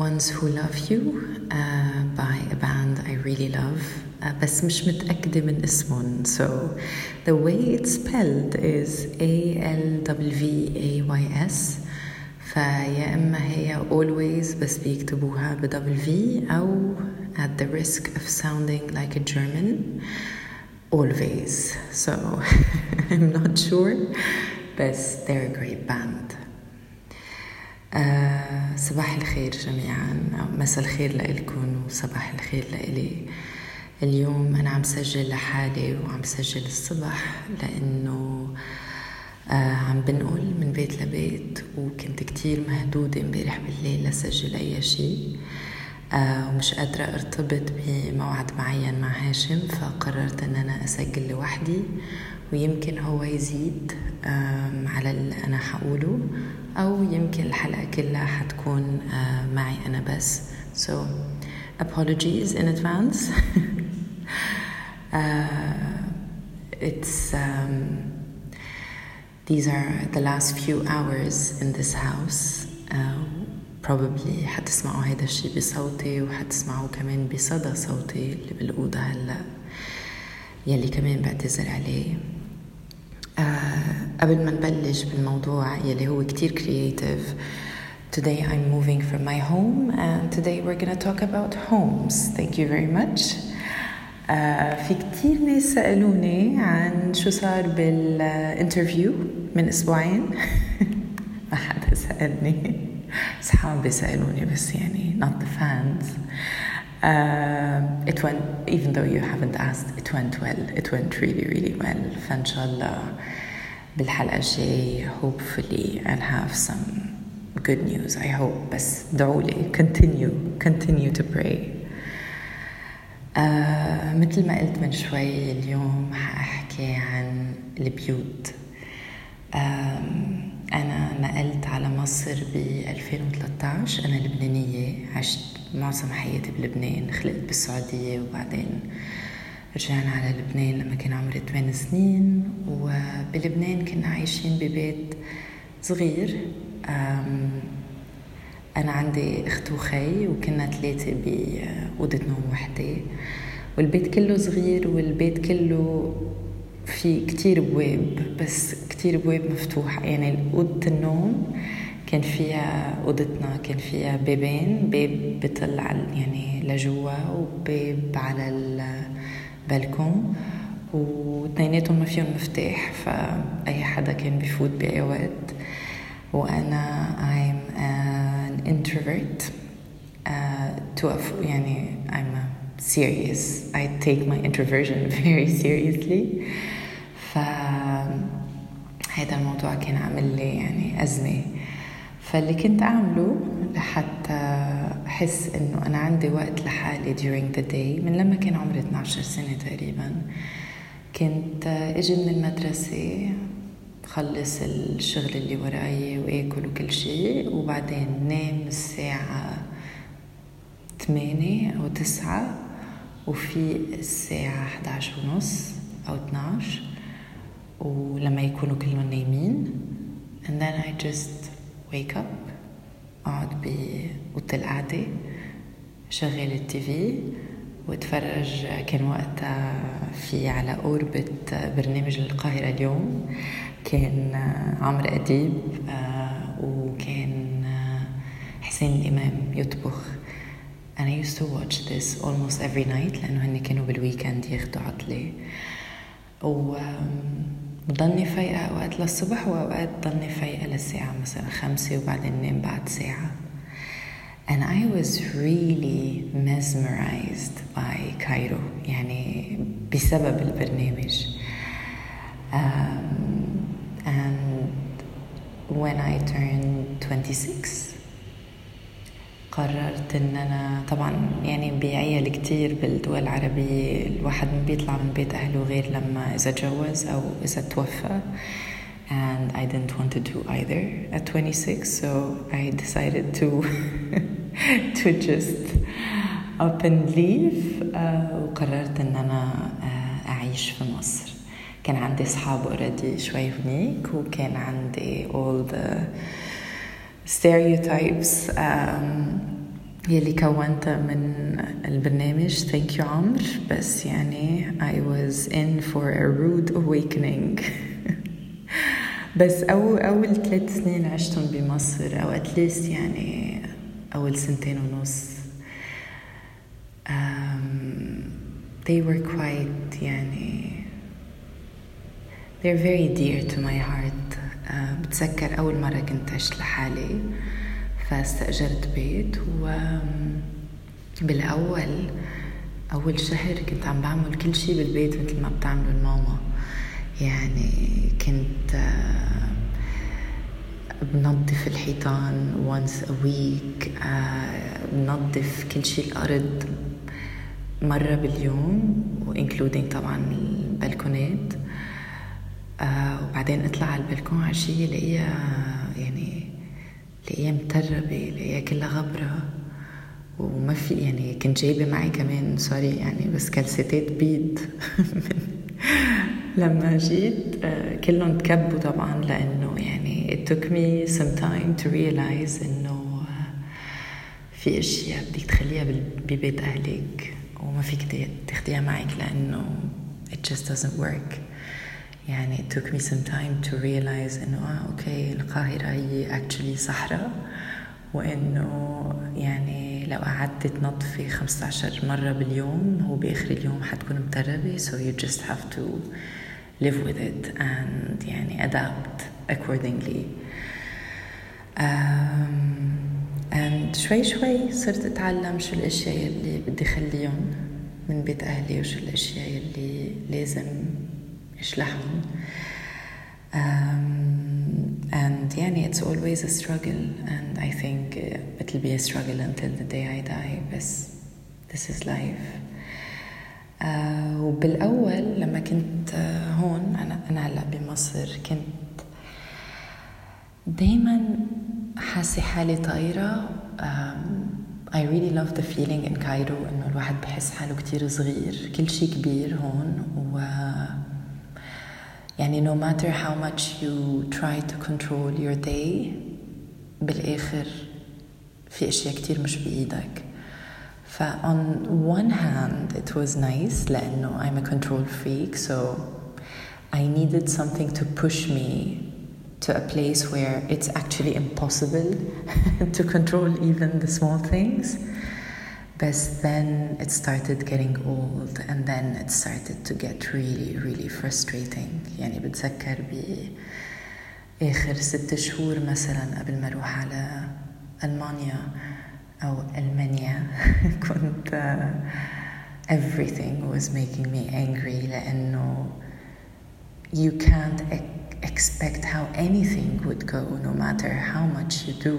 Ones Who Love You by a band I really love بس مش متأكدة من اسمهم. So the way it's spelled is ALWVAYS. فيا إما هي always بس بيكتبوها W أو at the risk of sounding like a German always. So I'm not sure, but they're a great band. صباح الخير جميعا أو مساء الخير لإلكم وصباح الخير لإلي. اليوم أنا عم سجل لحالي وعم سجل الصبح لأنه عم بنقل من بيت لبيت وكنت كتير مهدودة امبارح بالليل لسجل أي شيء ومش قادرة ارتبط بموعد معين مع هاشم، فقررت أن أنا أسجل لوحدي ويمكن هو يزيد على اللي أنا حقوله أو يمكن الحلقة كلها حتكون معي أنا بس. So apologies in advance. These are the last few hours in this house. Probably حتسمعوا هيدا الشي بصوتي وحتسمعوا كمان بصدى صوتي اللي بالأوضة هلأ يلي كمان بعتذر عليه. قبل ما نبلش بالموضوع يلي هو كتير creative, today I'm moving from my home and today we're gonna talk about homes. Thank you very much. في كتير ناس سألوني عن شو صار بالانترفيو من أسبوعين. ما حدا سألني، صحابي سألوني بس يعني not the fans. It went, even though you haven't asked, it went well. It went really, really well. فإن شاء الله بالحلقة الجاية hopefully I'll have some good news. I hope. بس دعولي. Continue to pray. مثل ما قلت من شوي اليوم حأحكي عن البيوت. أنا نقلت على مصر ب 2013. أنا لبنانية، عشت معظم حياتي بلبنان، خلقت بالسعودية وبعدين رجعنا على لبنان لما كان عمري 8 سنين. وبلبنان كنا عايشين ببيت صغير. أنا عندي أخت وخي وكنا 3 بأوضة نوم وحدة، والبيت كله صغير والبيت كله في كتير بواب، بس كتير بواب مفتوحة. يعني أوضة النوم كان فيها، أوضتنا كان فيها بابين، باب بيطلع يعني لجوا وباب على البلكون، واثنيناتهم ما فيهم مفتاح، فأي حدا كان بيفوت بأي وقت. وأنا I'm an introvert يعني I'm serious. I take my introversion very seriously. فهذا الموضوع كان عامل لي يعني أزمة. فاللي كنت أعمله لحتى أحس إنه أنا عندي وقت لحالي during the day من لما كان عمري 12 سنة تقريبا، كنت أجي من المدرسة خلص الشغل اللي وراي وآكل وكل شيء، وبعدين نام الساعة 8 أو 9 وفي الساعة 11:30 أو 12، ولما يكونوا كلهم نايمين and then I just wake up، أقعد بأوضة القعدة، شغل التيفي واتفرج. كان وقتها في على أوربت برنامج القاهرة اليوم، كان عمرو أديب وكان حسين الإمام يطبخ. and I used to watch this almost every night لأنه هني كانوا بالويكند ياخدوا عطلة، وضلني فايقة أوقات للصبح وأوقات ضلني فايقة للساعة مثلا 5 وبعدين نام بعد ساعة. and I was really mesmerized by Cairo يعني بسبب البرنامج. and when I turned 26 قررت ان انا طبعا يعني بعيال كتير بالدول العربية الواحد ما بيطلع من بيت اهله غير لما اذا تجوز او اذا توفى، and I didn't want to do either at 26, so I decided to just up and leave. وقررت ان انا اعيش في مصر. كان عندي اصحاب already شوي هناك، وكان عندي all the stereotypes يلي كونتها من البرنامج. Thank you عمر. بس يعني I was in for a rude awakening. بس أول 3 سنين عشتهم بمصر أو at least يعني أول 2.5 they were quite يعني they're very dear to my heart. بتذكر أول مرة كنت عشت لحالي فاستأجرت بيت وبالأول أول شهر كنت عم بعمل كل شي بالبيت مثل ما بتعمل الماما. يعني كنت بنظف الحيطان once a week، بنظف كل شي الأرض مرة باليوم including طبعا البلكونات. وبعدين اطلع على البلكون عشية لقيها متربة، لقيها كلها غبرة وما في يعني كنت جايبة معي كمان سوري يعني بس كالسيتات بيض. لما جيت كلهم تكبوا طبعا لأنه يعني it took me some time to realize إنه في أشياء بدك تخليها ببيت أهلك وما فيك تاخديها معك لأنه it just doesn't work. يعني it took me some time to realize إنه أوكي القاهرة هي actually صحراء، وإنه يعني لو قعدت تنظفي 15 مرة باليوم هو بآخر اليوم حتكون متربة. So you just have to live with it and يعني adapt accordingly. and شوي صرت أتعلم شو الأشياء اللي بدي خليهم من بيت أهلي وشو الأشياء اللي لازم إشلحهم. and يعني it's always a struggle and I think it'll be a struggle until the day I die. بس this is life. وبالأول لما كنت هون أنا هلأ بمصر كنت دايما حاسة حالي طايرة. I really love the feeling in Cairo إنه الواحد بحس حاله كتير صغير، كل شيء كبير هون. يعني no matter how much you try to control your day بالآخر في أشياء كتير مش بإيدك. on one hand it was nice لأنه I'm a control freak, so I needed something to push me to a place where it's actually impossible to control even the small things. But then it started getting old and then it started to get really frustrating. يعني بتذكر بآخر 6 شهور مثلا قبل ما أروح على ألمانيا أو ألمانيا كنت everything was making me angry لأنه you can't expect how anything would go no matter how much you do.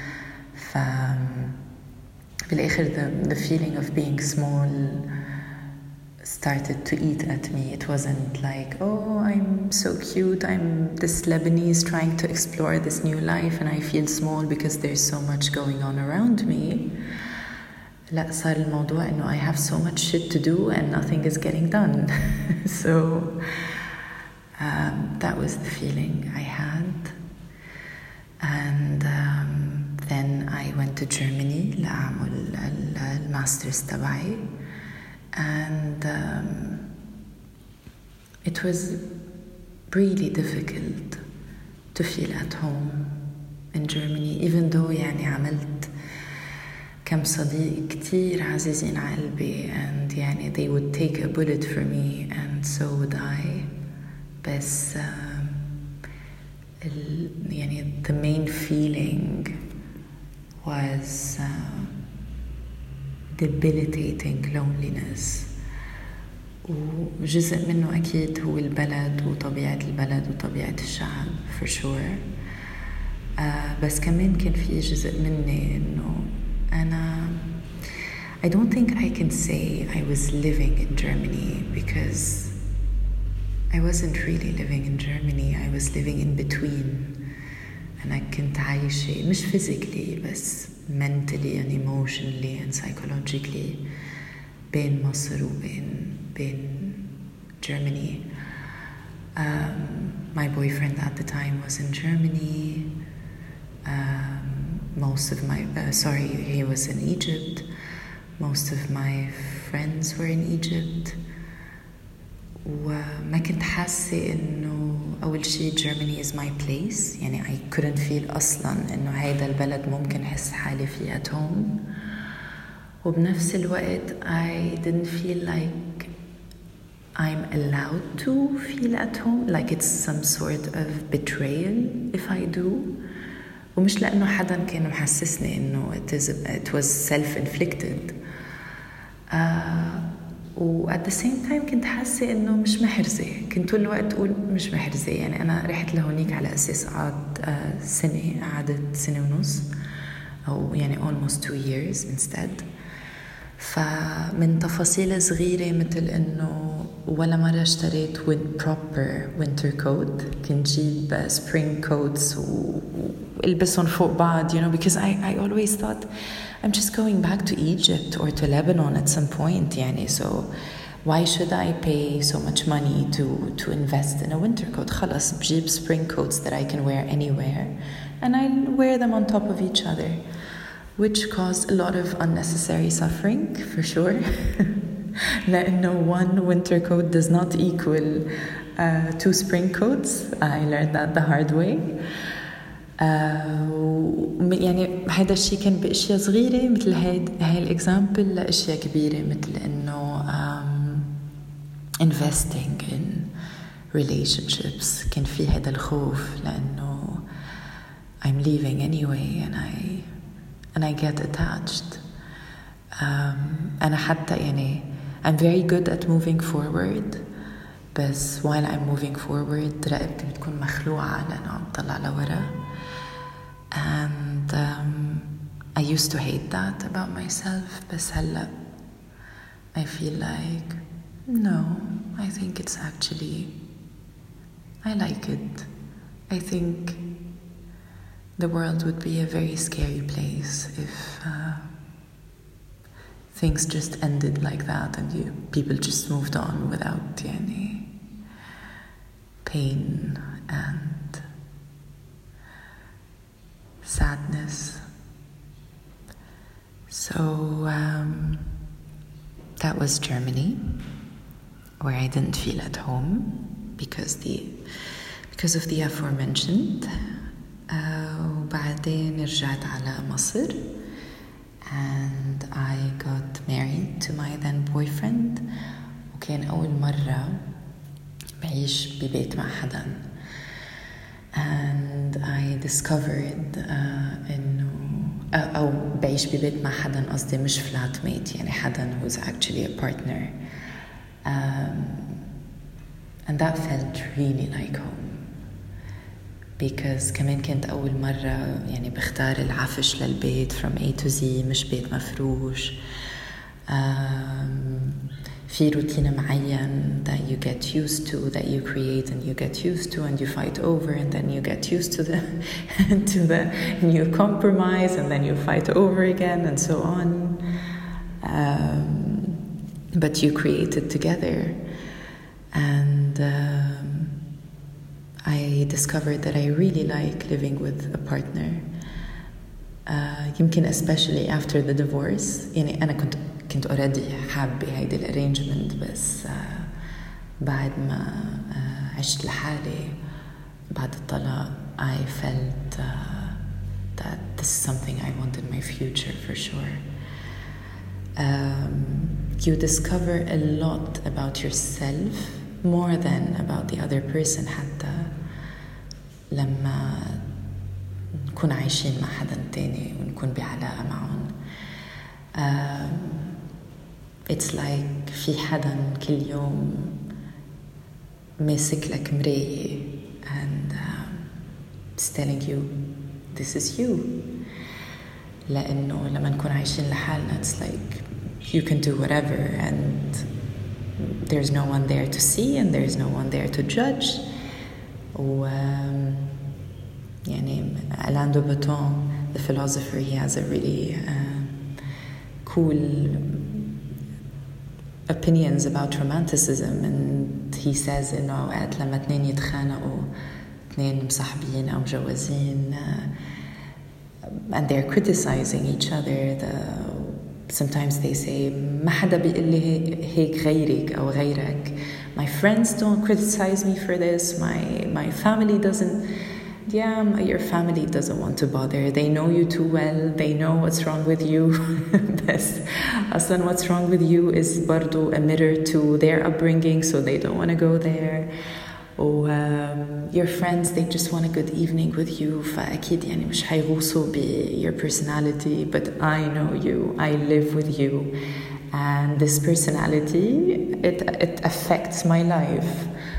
بالآخر the feeling of being small started to eat at me. It wasn't like, oh, I'm so cute, I'm this Lebanese trying to explore this new life and I feel small because there's so much going on around me. لا، صار الموضوع إنه I have so much shit to do and nothing is getting done. So that was the feeling I had. And then I went to Germany لأعمل الماسترز تبعي. And it was really difficult to feel at home in Germany, even though يعني عملت كم صديق كتير عزيزين على قلبي and يعني they would take a bullet for me and so would I. بس يعني the main feeling was debilitating loneliness. وجزء منه أكيد هو البلد وطبيعة البلد وطبيعة الشعب for sure. بس كمان كان في جزء مني إنه أنا I don't think I can say I was living in Germany because I wasn't really living in Germany. I was living in between. أنا كنت عايشة مش physically بس mentally and emotionally and psychologically بين مصر وبين Germany. My boyfriend at the time was in Germany. he was in Egypt. Most of my friends were in Egypt. وما كنت حاسة إنه أول شيء Germany is my place. يعني I couldn't feel أصلاً إنه هيدا البلد ممكن أحس حالي فيه at home. وبنفس الوقت I didn't feel like I'm allowed to feel at home, like it's some sort of betrayal if I do. ومش لأنه حدا كان محسسني إنه it was self-inflicted. و at the same time كنت حاسة إنه مش محرزة. كنت طول الوقت أقول مش محرزة. يعني أنا رحت لهونيك على أساس قعدت سنة ونص أو يعني almost 2 years instead. فمن تفاصيل صغيرة مثل إنه ولا مرة اشتريت proper winter coat. كنت جيب spring coats والبسهم فوق بعض, because I always thought I'm just going back to Egypt or to Lebanon at some point. يعني so why should I pay so much money to invest in a winter coat? خلاص بجيب spring coats that I can wear anywhere and I wear them on top of each other, which caused a lot of unnecessary suffering for sure. لأنه one winter coat does not equal 2 spring coats. I learned that the hard way. يعني هذا الشيء كان بأشياء صغيرة مثل هاي الإكزامبل لأشياء كبيرة مثل إنه investing in relationships. كان في هذا الخوف لأنه I'm leaving anyway and I get attached. أنا حتى يعني I'm very good at moving forward, بس while I'm moving forward رقبتي بتكون مخلوعة لأنه عم طلع لورا. And I used to hate that about myself, بس هلأ I feel like no, I think it's actually I like it. I think the world would be a very scary place if things just ended like that and people just moved on without any pain and sadness. So that was Germany, where I didn't feel at home because of the aforementioned. وبعدين رجعت على مصر and I got married to my then boyfriend. وكان أول مرة بعيش ببيت مع حدا and I discovered إنه أو بعيش ببيت مع حدا قصدي مش flatmate, يعني حدا who's actually a partner, and that felt really like home. Because كمان كانت أول مرة يعني بختار العفش للبيت from A to Z, مش بيت مفروش. في روتين معين that you get used to, that you create and you get used to and you fight over and then you get used to the new compromise and then you fight over again and so on. But you create it together. And I discovered that I really like living with a partner. يمكن especially after the divorce. يعني أنا كنت already حابة هيدي الارينجمنت, بس بعد ما عشت لحالي بعد الطلاق I felt that this is something I want in my future for sure. You discover a lot about yourself more than about the other person حتى لما نكون عايشين مع حدا تاني ونكون بعلاقة معهم. It's like في حدا كل يوم ماسك لك مراية and it's telling you this is you. لأنه لما نكون عايشين لحالنا it's like you can do whatever and there's no one there to see and there's no one there to judge. يعني Alain de Botton, the philosopher, he has a really cool opinions about romanticism, and he says إنه أوقات لما 2 يتخانقوا 2 مصاحبين أو مجوزين and they're criticizing each other. Sometimes they say ما حدا بيقول لي هيك غيرك أو غيرك. My friends don't criticize me for this. My family doesn't. Yeah, your family doesn't want to bother. They know you too well. They know what's wrong with you. بس أصلاً what's wrong with you is برضو a mirror to their upbringing, so they don't want to go there. Or your friends, they just want a good evening with you. فأكيد يعني مش حيغوصوا your personality, but I know you. I live with you. And this personality, it affects my life.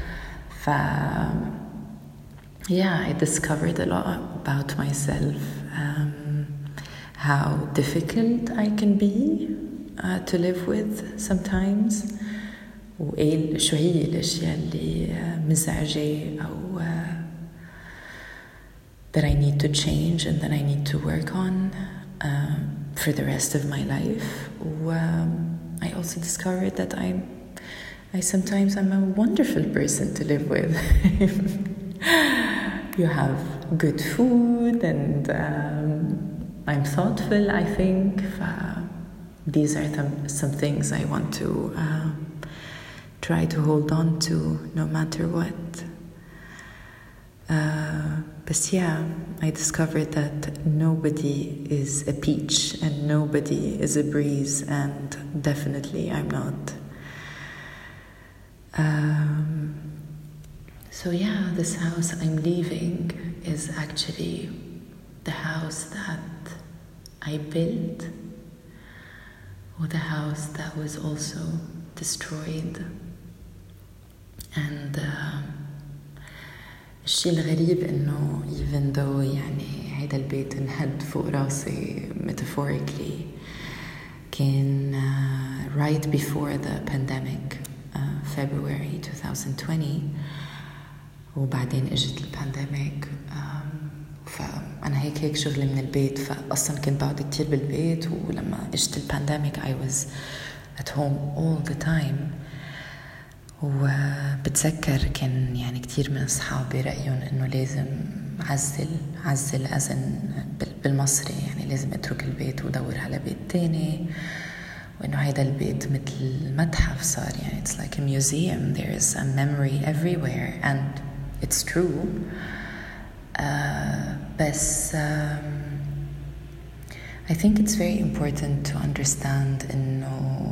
Yeah, I discovered a lot about myself, how difficult I can be to live with sometimes, وشو هي الأشياء اللي مزعجة أو that I need to change and that I need to work on for the rest of my life. I also discovered that I sometimes I'm a wonderful person to live with. You have good food and I'm thoughtful, I think. These are some things I want to try to hold on to no matter what. But yeah, I discovered that nobody is a peach and nobody is a breeze, and definitely I'm not. So yeah, this house I'm leaving is actually the house that I built, or the house that was also destroyed. And الشيء الغريب إنه even though يعني هيدا البيت انهد فوق راسي metaphorically كان right before the pandemic, February 2020, وبعدين اجت البانديميك. فأنا هيك شغلي من البيت، فأصلا كنت بقعد كتير بالبيت، ولما اجت البانديميك I was at home all the time. وبتذكر كان يعني كتير من أصحابي رأيهم إنه لازم عزل أزن بالمصري، يعني لازم أترك البيت ودور على بيت تاني، وإنه هيدا البيت مثل متحف صار، يعني it's like a museum. There is a memory everywhere, and it's true. بس I think it's very important to understand إنه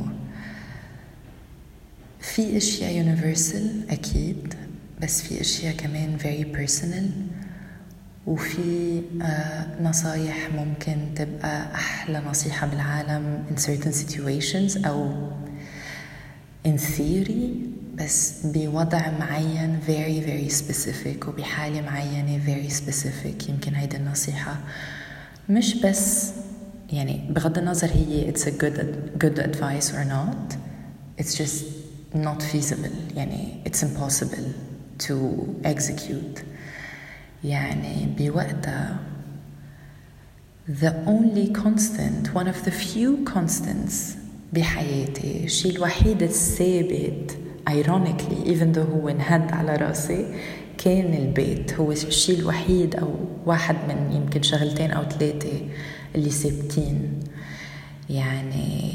في أشياء universal أكيد، بس في أشياء كمان very personal، وفي نصايح ممكن تبقى أحلى نصيحة بالعالم in certain situations أو in theory، بس بوضع معين very very specific وبحالة معينة very specific. يمكن هيدا النصيحة مش بس يعني بغض النظر هي it's a good advice or not, it's just not feasible. يعني it's impossible to execute. يعني بوقتها the only constant, one of the few constants بحياتي، الشيء الوحيد الثابت ironically even though هو انهد على راسي، كان البيت. هو الشيء الوحيد أو واحد من يمكن شغلتين أو ثلاثة اللي ثابتين. يعني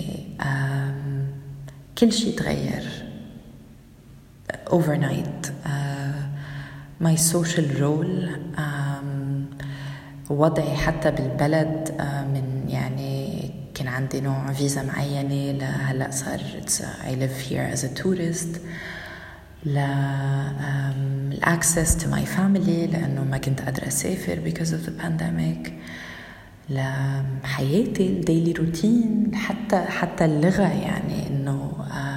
كل شيء تغير overnight. my social role، وضعي حتى بالبلد، من يعني كان عندي نوع فيزا معينة لهلأ صار I live here as a tourist، access to my family لأنه ما كنت قادرة أسافر because of the pandemic، لحياتي الديلي روتين، حتى اللغة. يعني إنه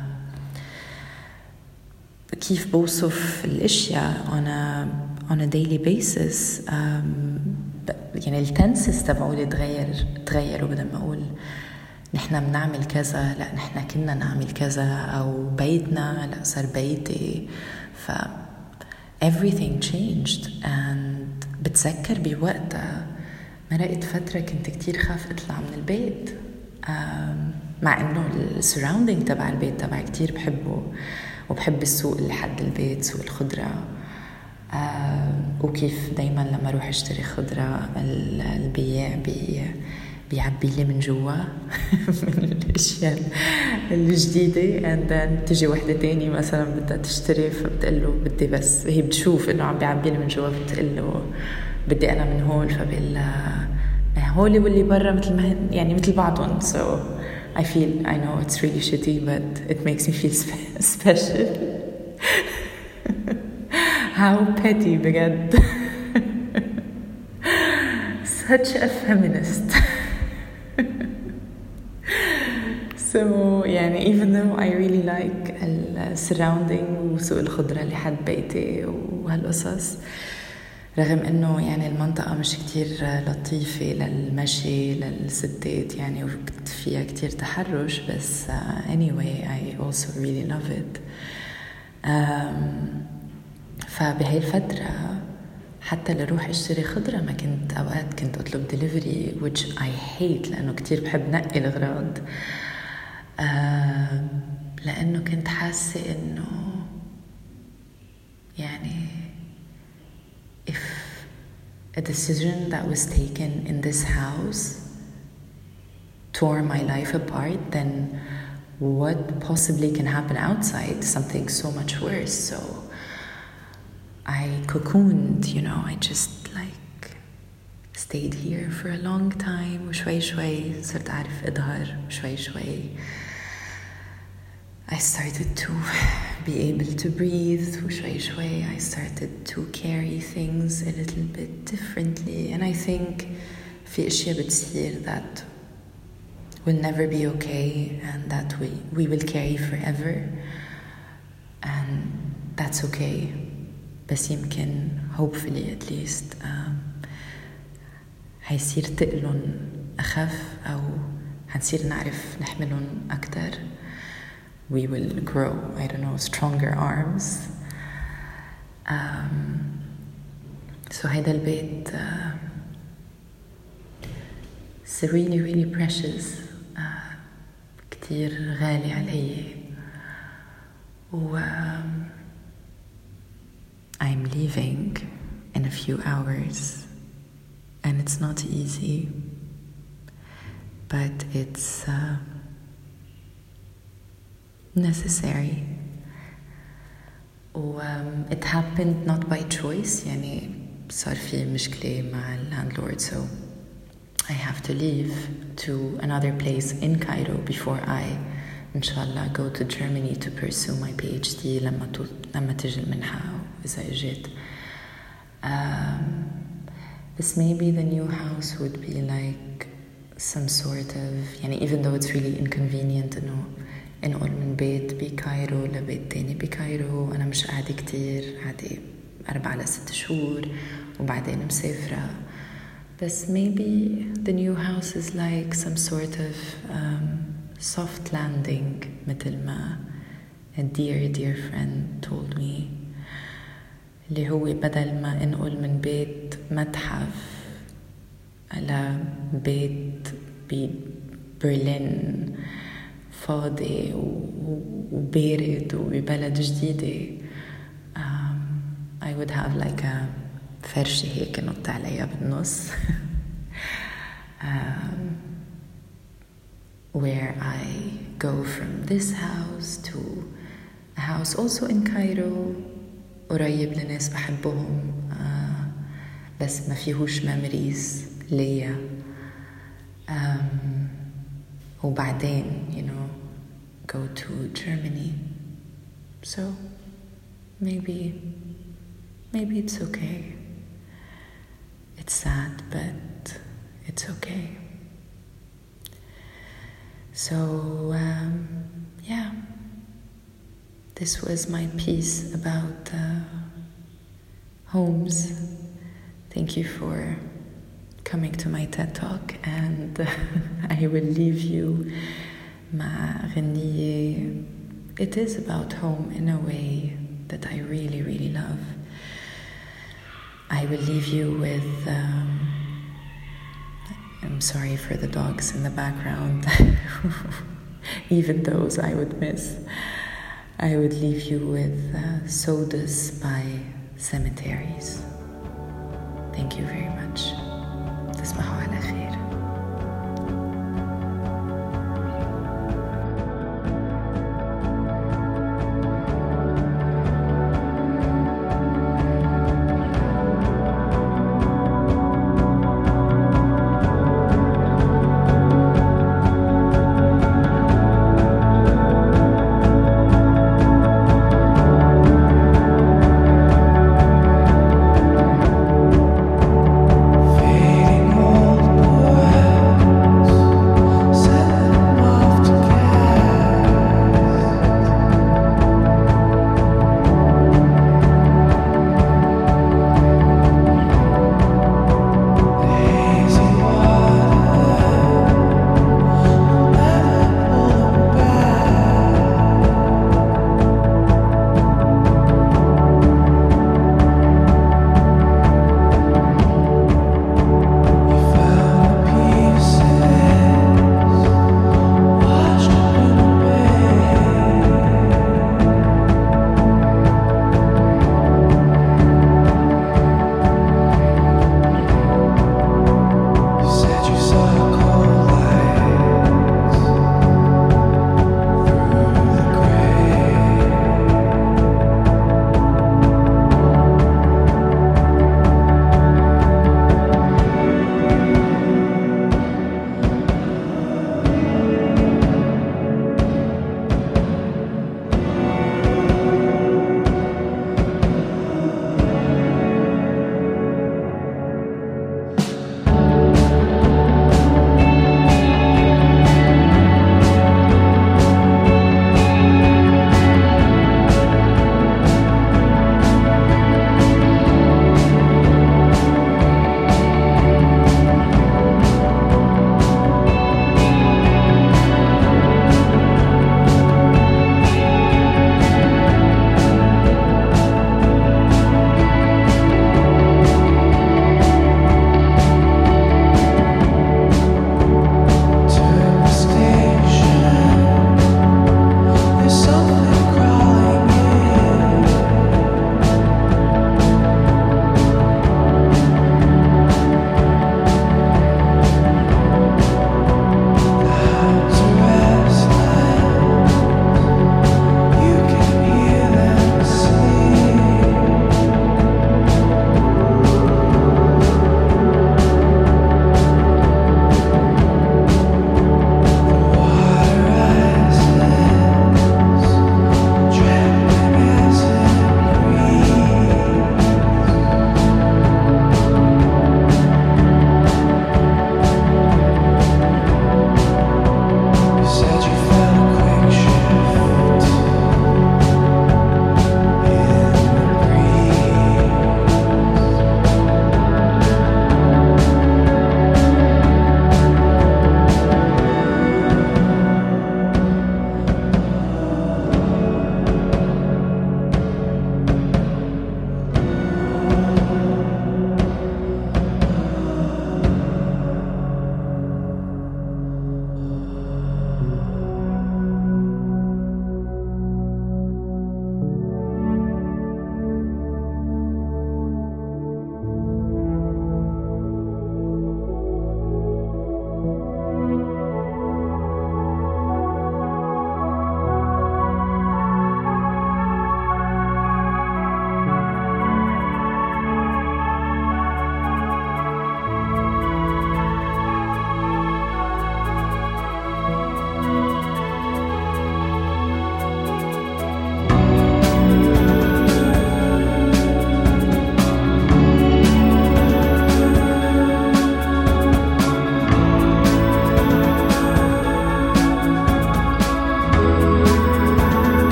كيف بوصف الأشياء on a daily basis. يعني التنسس تبعولي تغيروا. بدل ما أقول نحنا بنعمل كذا، لا نحنا كنا نعمل كذا، أو بيتنا لا صار بيتي. everything changed. and بتذكر بوقتها مرقت فترة كنت كتير خاف أطلع من البيت، مع إنه السراوندينج تبع البيت تبعي كتير بحبه، وبحب السوق اللي حد البيت، سوق الخضرة. وكيف دايما لما اروح اشتري خضرة البياع بيعبي لي من جوا من الاشياء الجديدة and then تجي وحدة تاني مثلا بدها تشتري فبتقله بدي بس هي بتشوف انه عم بيعبي لي من جوا فبتقله بدي انا من هول فبقلها هولي واللي برا مثل ما يعني مثل بعضهم. So I know it's really shitty but it makes me feel special. How petty بجد. Such a feminist. So يعني even though I really like surrounding وسوق الخضرة اللي حد بيتي وهالقصص رغم انه يعني المنطقة مش كتير لطيفة للمشي للستات يعني فيها كتير تحرش بس anyway I also really love it. فبهاي الفترة حتى لروح اشتري خضرة ما كنت اوقات كنت اطلب delivery which I hate لانه كتير بحب نقي الاغراض لانه كنت حاسة انه يعني if a decision that was taken in this house tore my life apart, then what possibly can happen outside? Something so much worse. So I cocooned, I just like stayed here for a long time. وشوي شوي صرت أعرف أظهر شوي شوي. I started to be able to breathe وشوي شوي I started to carry things a little bit differently and I think في أشياء بتصير that will never be okay and that we will carry forever and that's okay بس يمكن hopefully at least هيصير تقلن أخف أو هنصير نعرف نحملن أكتر. We will grow, stronger arms. So هيدا البيت it's really, really precious. كتير غالي علي. I'm leaving in a few hours and it's not easy, but it's necessary. It happened not by choice يعني صار في مشكلة مع landlord so I have to leave to another place in Cairo before I inshallah go to Germany to pursue my PhD لما تجي المنحة إذا إجت. But maybe the new house would be like some sort of يعني even though it's really inconvenient إنه انقل من بيت بكايرو لبيت تاني بكايرو أنا مش قاعدة كتير قاعدة 4 ل 6 شهور وبعدين مسافرة بس maybe the new house is like some sort of soft landing مثل ما a dear friend told me اللي هو بدل ما انقل من بيت متحف على بيت ببرلين فاضي وبارد وببلد جديدة I would have like a فرشة هيك نط عليها بالنص where I go from this house to a house also in Cairo قريب لناس بحبهم بس ما فيهوش memories ليا وبعدين go to Germany so maybe it's okay. It's sad but it's okay. So yeah, this was my piece about homes. Thank you for coming to my TED Talk and I will leave you مع غنية. It is about home in a way that I really, really love. I will leave you with I'm sorry for the dogs in the background. Even those I would miss. I would leave you with Sodas by cemeteries. Thank you very much. تصبحوا على خير.